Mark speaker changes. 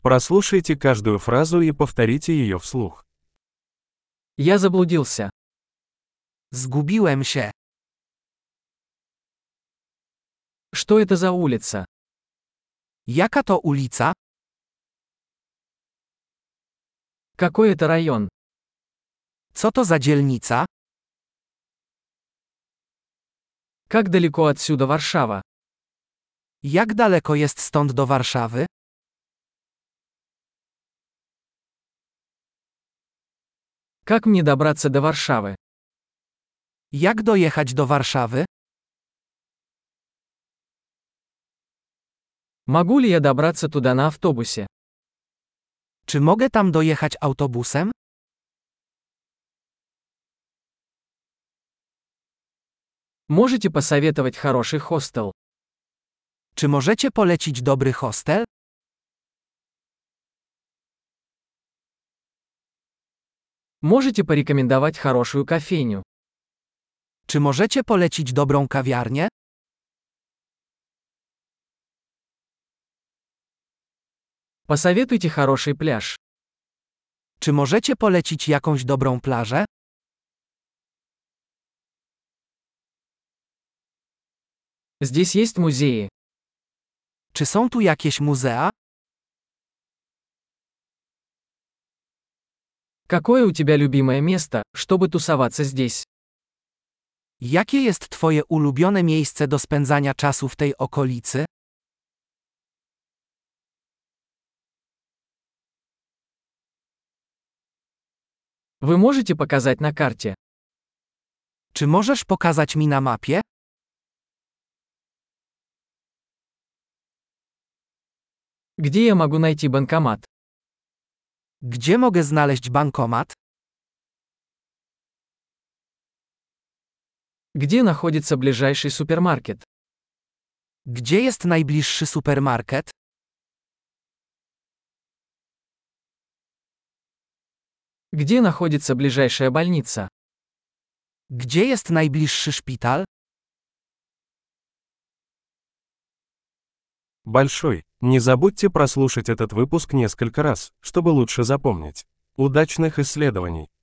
Speaker 1: Прослушайте каждую фразу и повторите ее вслух.
Speaker 2: Я заблудился.
Speaker 3: Zgubiłem się.
Speaker 2: Что это за улица?
Speaker 3: Jaka to ulica?
Speaker 2: Какой это район?
Speaker 3: Co to za dzielnica?
Speaker 2: Как далеко отсюда Варшава?
Speaker 3: Jak daleko jest stąd do Warszawy?
Speaker 2: Как мне добраться до Варшавы?
Speaker 3: Jak dojechać do Warszawy?
Speaker 2: Могу ли я добраться туда на автобусе?
Speaker 3: Czy mogę tam dojechać autobusem?
Speaker 2: Можете посоветовать хороший хостел?
Speaker 3: Czy możecie polecić dobry hostel?
Speaker 2: Можете порекомендовать хорошую кофейню?
Speaker 3: Czy możecie polecić dobrą kawiarnię?
Speaker 2: Посоветуйте хороший пляж.
Speaker 3: Czy możecie polecić jakąś dobrą plażę?
Speaker 2: Здесь есть музеи.
Speaker 3: Czy są tu jakieś muzea?
Speaker 2: Какое у тебя любимое место, чтобы тусоваться здесь?
Speaker 3: Jakie jest twoje ulubione miejsce do spędzania czasu w tej okolicy?
Speaker 2: Вы можете показать на карте?
Speaker 3: Czy możesz pokazać mi na mapie?
Speaker 2: Где я могу найти банкомат?
Speaker 3: Gdzie mogę znaleźć bankomat?
Speaker 2: Где находится ближайший супермаркет?
Speaker 3: Gdzie jest najbliższy supermarket?
Speaker 2: Где находится ближайшая больница?
Speaker 3: Gdzie jest najbliższy szpital?
Speaker 1: Большой. Не забудьте прослушать этот выпуск несколько раз, чтобы лучше запомнить. Удачных исследований!